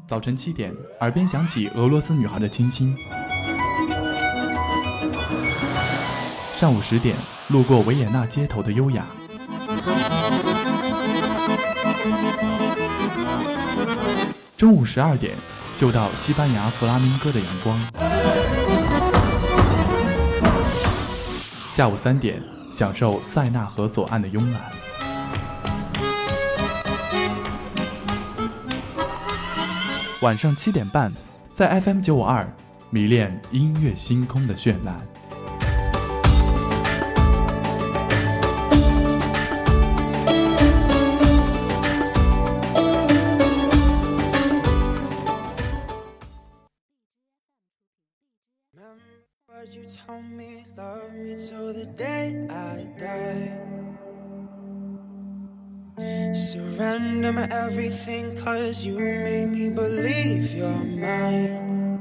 早晨7点，耳边响起俄罗斯女孩的清新。上午10点，路过维也纳街头的优雅。中午12点，嗅到西班牙弗拉明戈的阳光。下午3点，享受塞纳河左岸的慵懒。晚上7点半，在 FM952 迷恋音乐星空的绚烂。 You told me, love me till the day I die. Surrender my everything, cause you made me believe you're mine.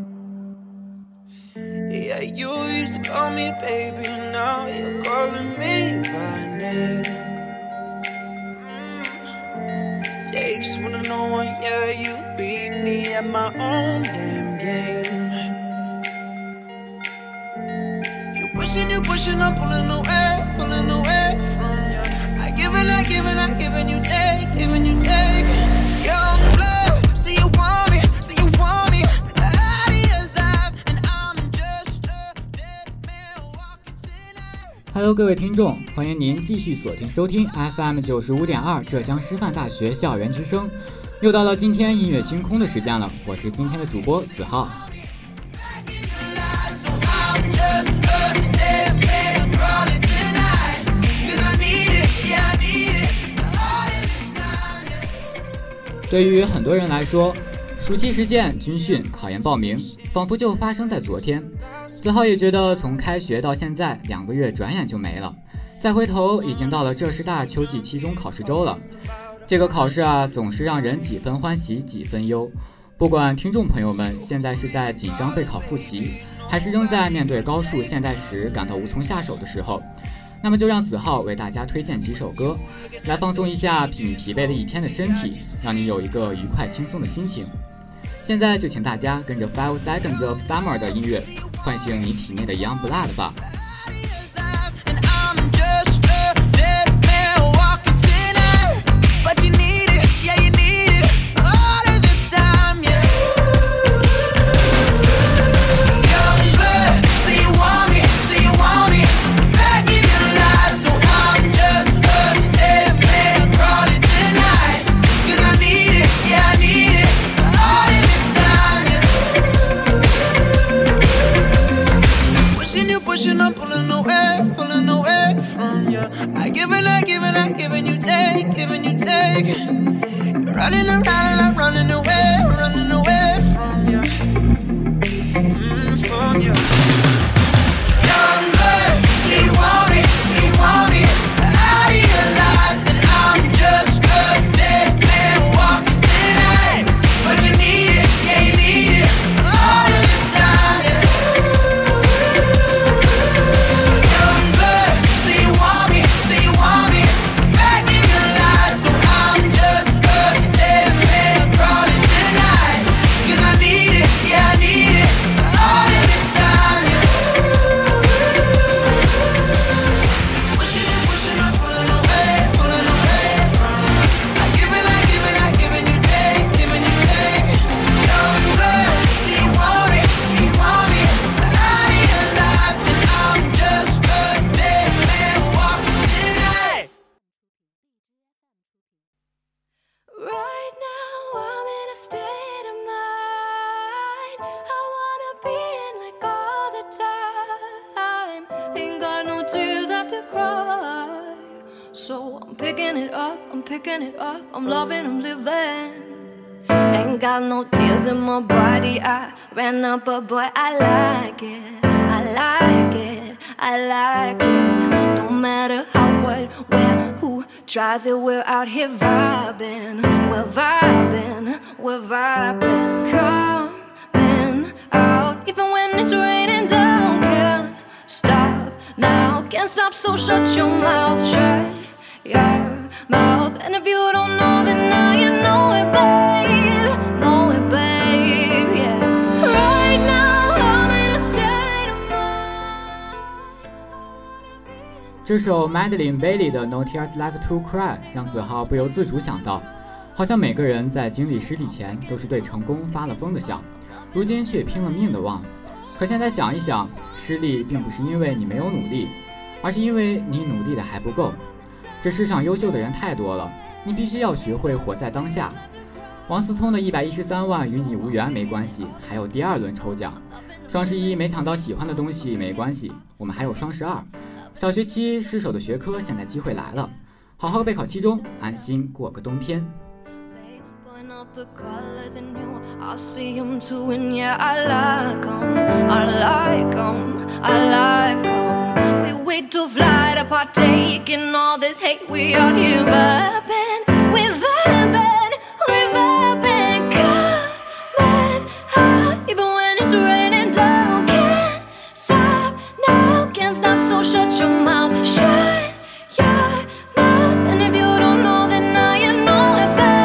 Yeah, you used to call me baby, now you're calling me by name. Takes one to know one, yeah, you beat me at my own damn game. You pushing, I'm pulling away from you. I give and you take. Young blood, say you want me, out of your life, and I'm just a dead man walking tonight. Hello， 各位听众，欢迎您继续锁定收听 FM95.2 浙江师范大学校园之声。又到了今天音乐星空的时间了，我是今天的主播子浩。对于很多人来说，暑期实践、军训、考研报名，仿佛就发生在昨天。子浩也觉得，从开学到现在2个月转眼就没了。再回头，已经到了浙师大秋季期中考试周了。这个考试啊，总是让人几分欢喜几分忧。不管听众朋友们现在是在紧张备考复习，还是仍在面对高数现代史感到无从下手的时候，那么就让子浩为大家推荐几首歌，来放松一下你疲惫了一天的身体，让你有一个愉快轻松的心情。现在就请大家跟着 5 Seconds of Summer 的音乐，唤醒你体内的 Young Blood 吧。 I'm pulling away from you. I give and you take. You're running around and I'm running away from you. From you. Young blood, say you want me, out of your life, and I'm just a dead man walking tonight. But you need it, yeah you need it, all of the time. Yeah. Picking it up, I'm loving, I'm living. Ain't got no tears in my body, I ran up, but boy, I like it. Don't matter how, what, where, who tries it, we're out here vibing. We're vibing. Coming out, even when it's raining down. Can't stop now, can't stop, so shut your mouth, shut your mouth. And if you don't know, then now you know it, babe. Know it, 这首 Madeline Bailey 的 No Tears Left to Cry 让子浩不由自主想到，好像每个人在经历失利前都是对成功发了疯的想，如今却拼了命的忘。可现在想一想，失利并不是因为你没有努力，而是因为你努力的还不够。这世上优秀的人太多了，你必须要学会活在当下。王思聪的113万与你无缘没关系，还有第2轮抽奖。双11没抢到喜欢的东西没关系，我们还有双12。小学期失手的学科，现在机会来了，好好备考期中，安心过个冬天。 The colors in you, I see them too, and yeah, I like them, I like them, I like them. We wait to fly to partake in all this hate. We out here vibing, we vibing, we vibing. Coming out, even when it's raining down. Can't stop now, can't stop, so shut your mouth, shut your mouth. And if you don't know, then now you know it, babe.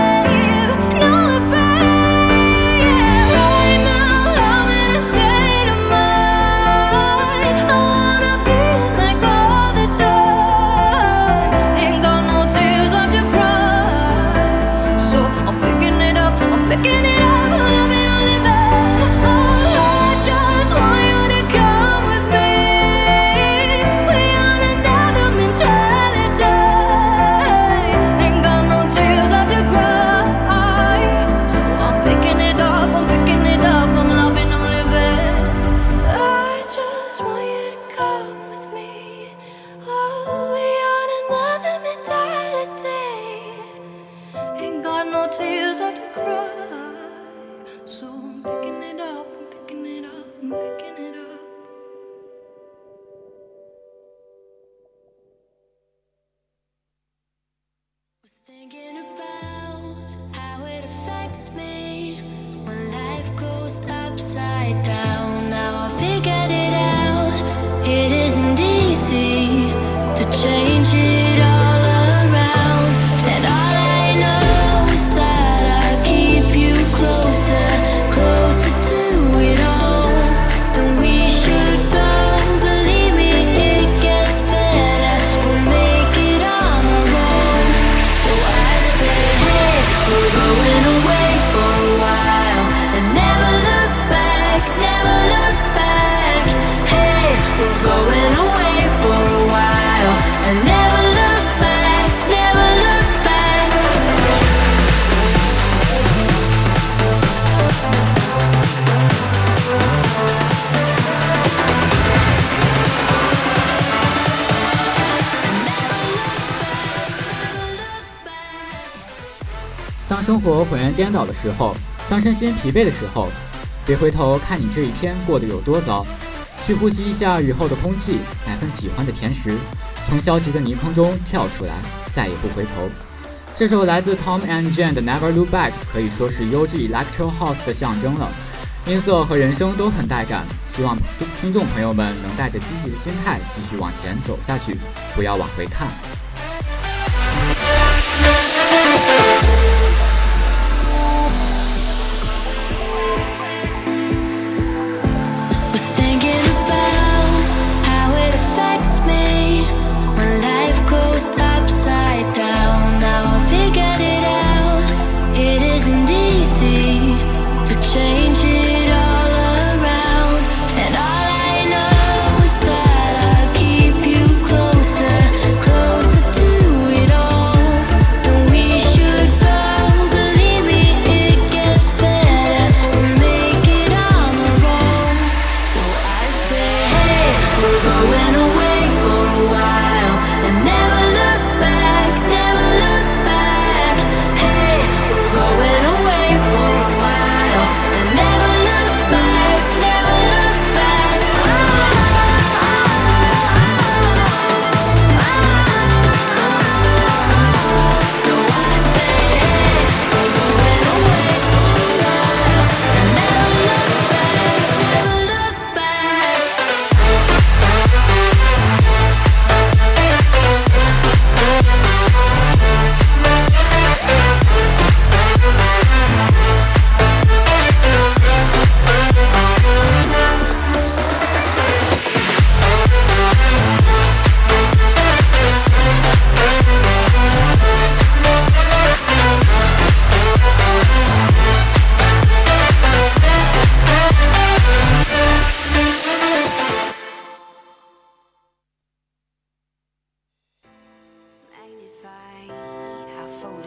Thinking about how it affects me when life goes upside down. Now I figured it out, it isn't easy to change it all around. And all I know is that I keep you closer, closer to it all than we should go. Believe me, it gets better, we'll make it on our own. So I say, hey, we're going away for a while and never look back, never look back. Hey, we're going away for a while and never look back, never look back. Never look back. 当生活浑然颠倒的时候，当身心疲惫的时候，别回头看你这一天过得有多糟，去呼吸一下雨后的空气，买份喜欢的甜食，从消极的泥坑中跳出来，再也不回头。这首来自 Tom and Jane 的 Never Look Back 可以说是优质 Electro House 的象征了，音色和人声都很带感，希望听众朋友们能带着积极的心态继续往前走下去，不要往回看。 Was thinking about how it affects me when life goes upside down. Now I figured it out, it isn't easy to change it all around. And all I know is that I keep you closer, closer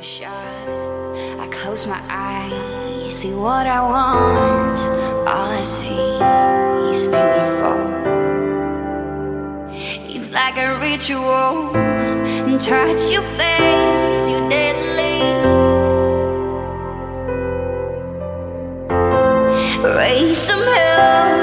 I close my eyes, see what I want. All I see is beautiful. It's like a ritual. And touch your face, you deadly. Raise some hell.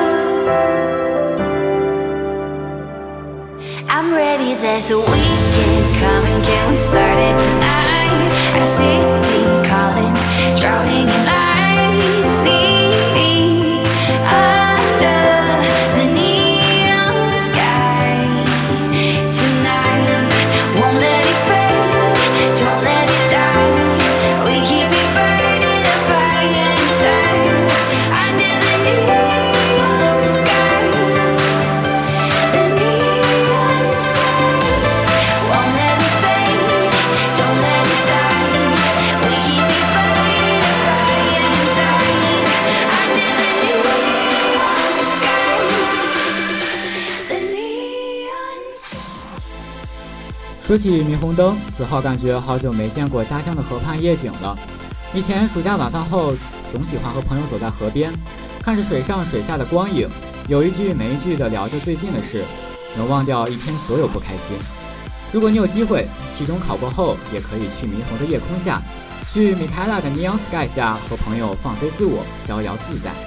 I'm ready, there's a weekend coming. Can we start it tonight? A city calling, drowning in lights, sleeping under the neon sky. Tonight, won't let it fade, don't let it die. We keep it burning, a fire inside. Under the neon sky, the neon sky. Won't let it fade, don't let it die. We keep it burning, a fire inside. Under the neon sky, the neon sky. 说起霓虹灯，子浩感觉好久没见过家乡的河畔夜景了。以前暑假晚饭后，总喜欢和朋友走在河边，看着水上水下的光影，有一句没一句的聊着最近的事，能忘掉一天所有不开心。如果你有机会，期中考过后，也可以去霓虹的夜空下，去米开朗的 Neon Sky 下，和朋友放飞自我，逍遥自在。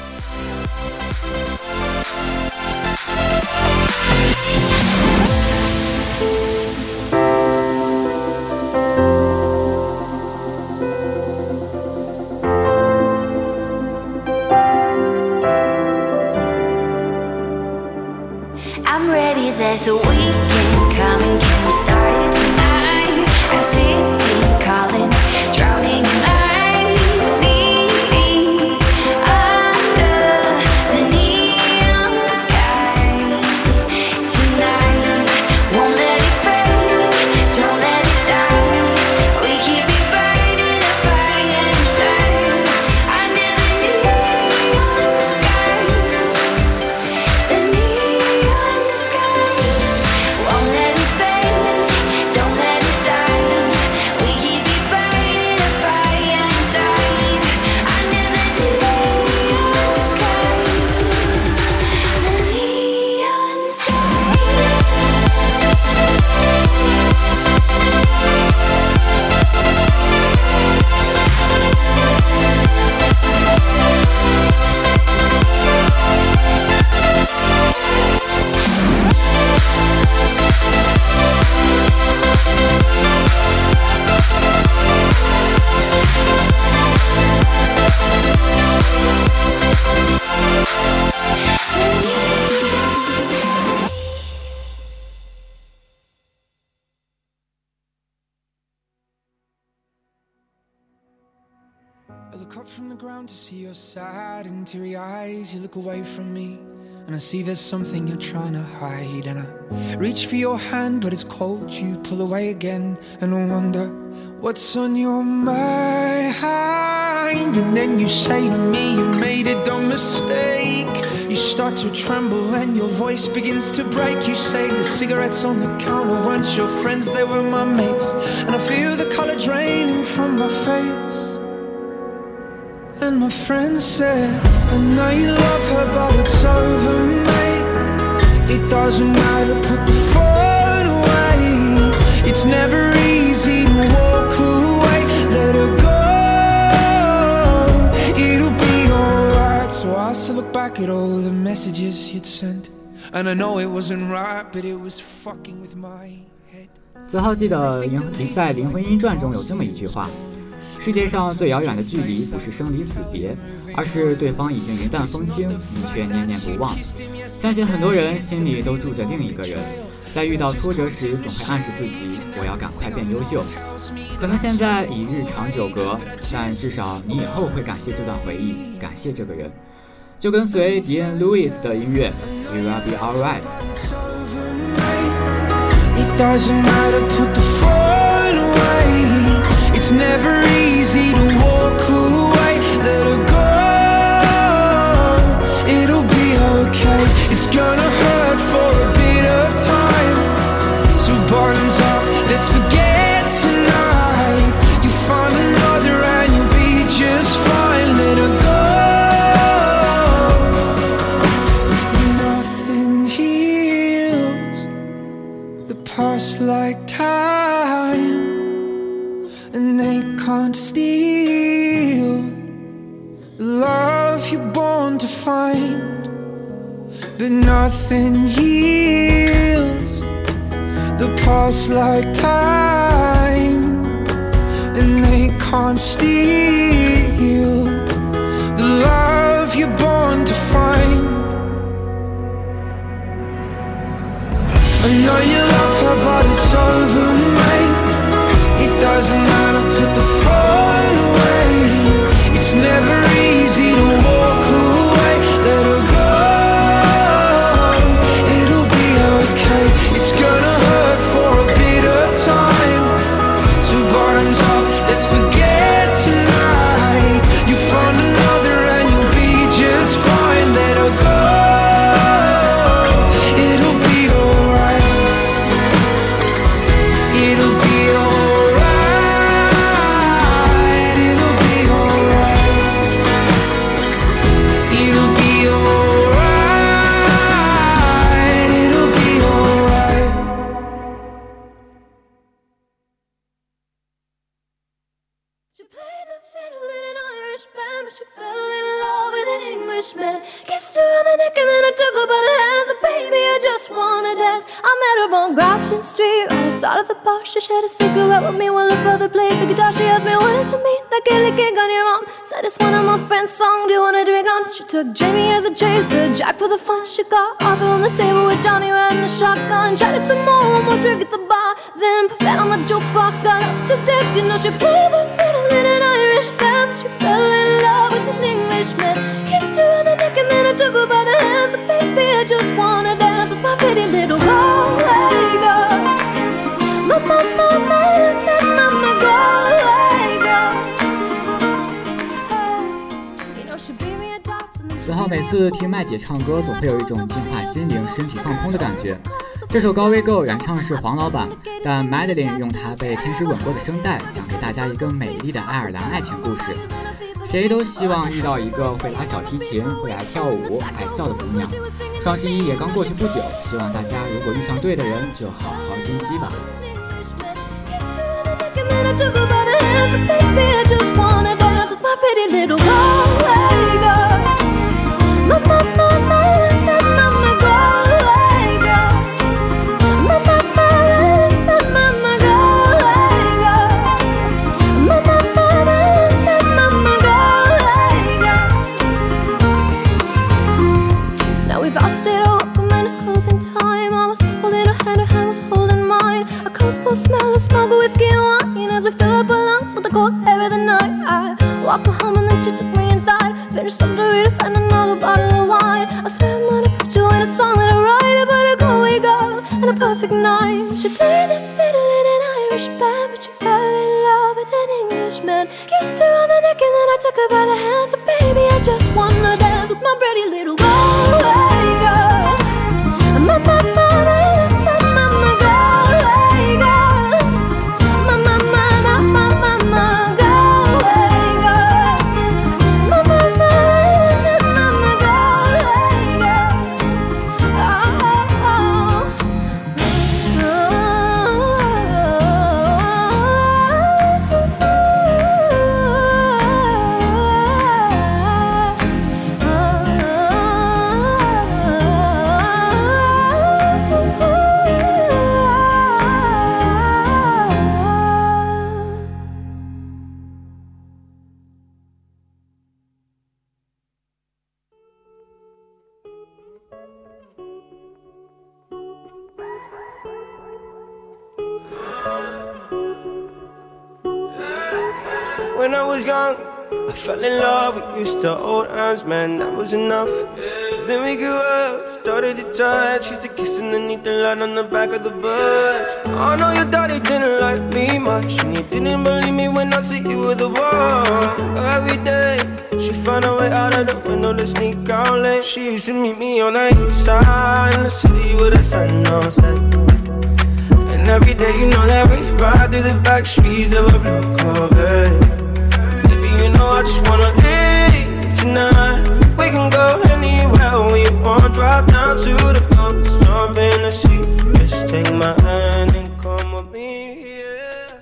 I'm ready, there's a weekend coming. Can we start it tonight? A city calling, drowning in lights, sleeping under the neon sky. Tonight, won't let it fade, don't let it die. We keep it burning, a fire inside. Under the neon sky, the neon sky. Won't let it fade, don't let it die. We keep it burning, a fire inside. Under the neon sky, the neon sky. I look up from the ground to see your sad and teary eyes. You look away from me, and I see there's something you're trying to hide. And I reach for your hand, but it's cold. You pull away again, and I wonder what's on your mind. And then you say to me, you made a dumb mistake. You start to tremble and your voice begins to break. You say the cigarettes on the counter weren't your friends, they were my mates. And I feel the color draining from my face. And my friend said, I know you love her, but it's over, mate. It doesn't matter, put the phone away. It's never easy to walk away. Let her go, it'll be alright. So I still look back at all the messages you'd sent, and I know it wasn't right, but it was fucking with my head. 子浩记得在《灵魂音传》中有这么一句话：世界上最遥远的距离不是生离死别，而是对方已经云淡风轻，你却念念不忘。相信很多人心里都住着另一个人，在遇到挫折时总会暗示自己，我要赶快变优秀。可能现在已日长久隔，但至少你以后会感谢这段回忆，感谢这个人。就跟随 Dean Lewis 的音乐 We Will Be Alright。 It doesn't matter, put the phone away. It's never easy to walk away. Let her go, it'll be okay. It's gonna hurt for a bit of time. So bottoms up, let's forget tonight. You and they can't steal the love you're born to find. But nothing heals the past like time, and they can't steal the love you're born to find. I know you love her, but it's over, mate. It doesn't matter, put the phone away. It's never easy to walk away. Let her go, it'll be okay. It's gonna hurt for a bit of time. So bottoms up, let's forget tonight. You found another and you'll be just fine. Let her go, it'll be alright. It'll be alright. It'll be alright. It'll be alright. It'll be alright. She played the fiddle in an Irish band, but she fell in love with an Englishman. Kissed her on the neck and then I took her by the hands. And baby, I just wanna dance. I met her on Grafton Street, right outside of the bar. She shared a cigarette with me while her brother played the guitar. She asked me, what does it mean, that gilly gig on your arm? Said it's one of my friend's songs, do you wanna drink on? She took Jamie as a chaser, Jack for the fun. She got Arthur on the table with Johnny riding a shotgun. Chatted some more, one more drink at the bar. Then Buffett on the jukebox got up to dance. You know she played the fiddle in an Irish band, but she fell in love with an Englishman. Kissed her on the neck and then I took her by the hands. And baby, I just wanna dance with my pretty little Galway girl. My mama, Galway girl. You know she beat me a dance and then she 然后每次听麦姐唱歌，总会有一种净化心灵、身体放空的感觉。这首《高危 Go》原唱是黄老板，但 Madeline 用她被天使吻过的声带，讲给大家一个美丽的爱尔兰爱情故事。谁都希望遇到一个会拉小提琴、会爱跳舞、爱笑的姑娘。双十一也刚过去不久，希望大家如果遇上对的人，就好好珍惜吧。 Smell of smoke, whiskey and wine as we fill up our lungs with the cold air of the night. I walked her home and then she took me inside. Finished some Doritos and another bottle of wine. I swear I'm gonna put you in a song that I write about a Galway girl and a perfect night. She played the fiddle in an Irish band, but she fell in love with an Englishman. Kissed her on the neck and then I took her by the hand. So baby, I just wanna dance with my pretty little Galway girl. Mama, When I was young, I fell in love, we used to hold hands, man, that was enough. Then we grew up, started to touch, used to kiss underneath the light on the back of the bus. I know your daddy didn't like me much, and he didn't believe me when I said you were the one. Every day, she found a way out of the window to sneak out late. She used to meet me on the east side in the city with the sun on set. And every day you know that we ride through the back streets of a blue Corvette. Baby, you know I just wanna leave tonight. We can go anywhere we want, drive down to the coast, jump in the sea. Just take my hand and come with me, yeah. We can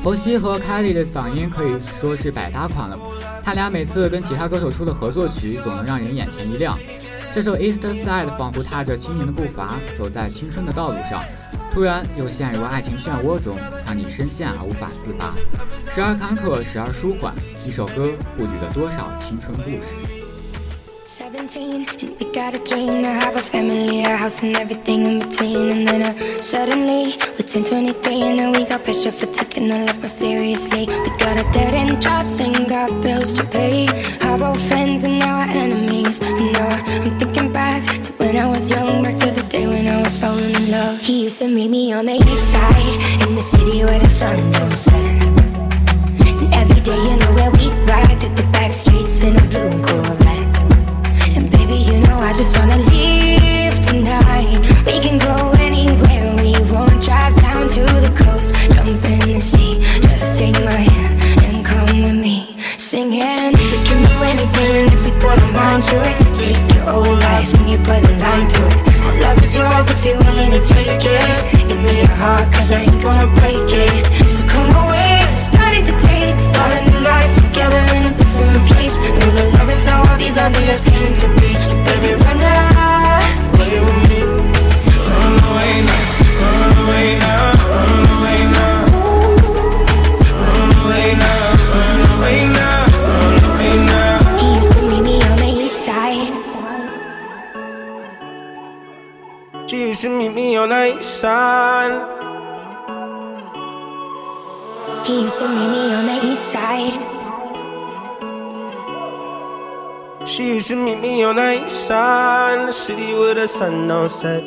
侯熙和凯莉的嗓音可以说是百搭款了，他俩每次跟其他歌手出的合作曲总能让人眼前一亮。这首 East Side 仿佛踏着轻盈的步伐走在青春的道路上，突然又陷入爱情漩涡中，让你深陷而无法自拔，时而坎坷，时而舒缓。一首歌不捋了多少青春故事。 17 and we got a dream to have a family, a house and everything in between. And then suddenly we're 10, 23 and now we got pressure for taking our life more seriously. We got a dead end jobs and got bills to pay. Our old friends and now our enemies. And now I'm thinking back to when I was young, back to the day when I was falling in love. He used to meet me on the east side, in the city where the sun don't set. And every day you know where we ride through the back streets in a blue Corvette. And baby, you know I just wanna leave tonight. We can go anywhere we want. Drive down to the coast, jump in the sea. Just take my hand and come with me, singing. We can do anything if we put our mind to it. Take your whole life and you put a line through it. My love is yours if you're willing to take it. Give me your heart cause I ain't gonna break it. So come away, starting to taste. Start a new life together in a different place. Know the love is how all these ideas came to be. So baby, run away with me. Run away now, run away now, run away now. Run away now, run away now, run away now. He used to meet me on the east side. She used to meet me on the east side. He used to meet me on the east side. She used to meet me on the east side, the city where the sun don't set.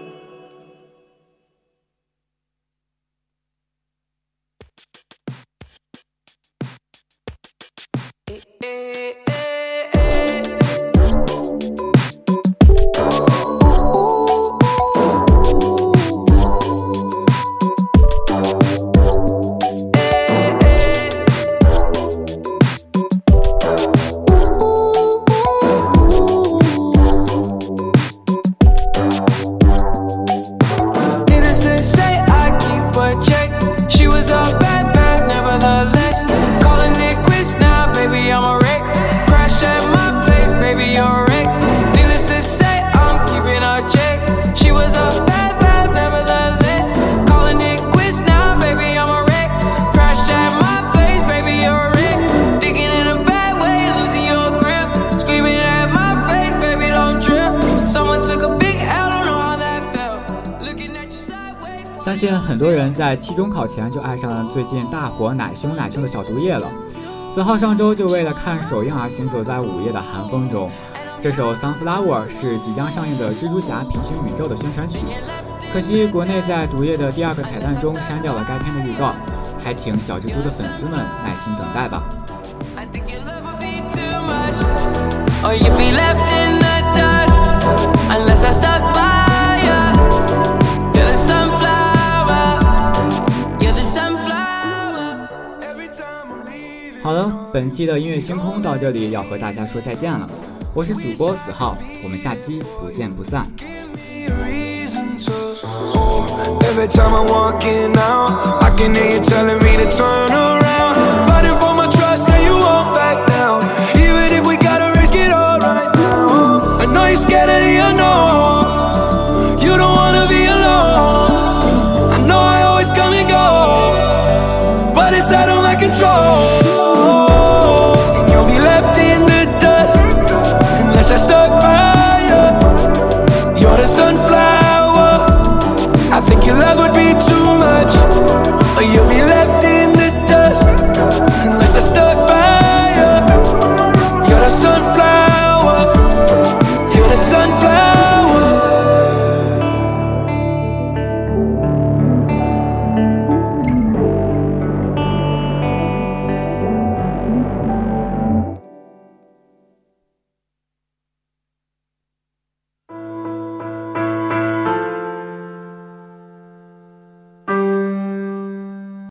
相信很多人在期中考前就爱上了最近大火奶凶的小毒液了。子浩上周就为了看首映而行走在午夜的寒风中。这首 Sunflower 是即将上映的蜘蛛侠平行宇宙的宣传曲，可惜国内在毒液的第2个彩蛋中删掉了该片的预告，还请小蜘蛛的粉丝们耐心等待吧。好了，本期的音乐星空到这里要和大家说再见了，我是主播子浩，我们下期不见不散。Every time I'm walking out, I can hear you telling me to turn around. Fighting for my trust and you won't back down. Even if we gotta risk it all right now. I know you're scared of the unknown. You don't wanna be alone. I know I always come and go, but it's out of my control.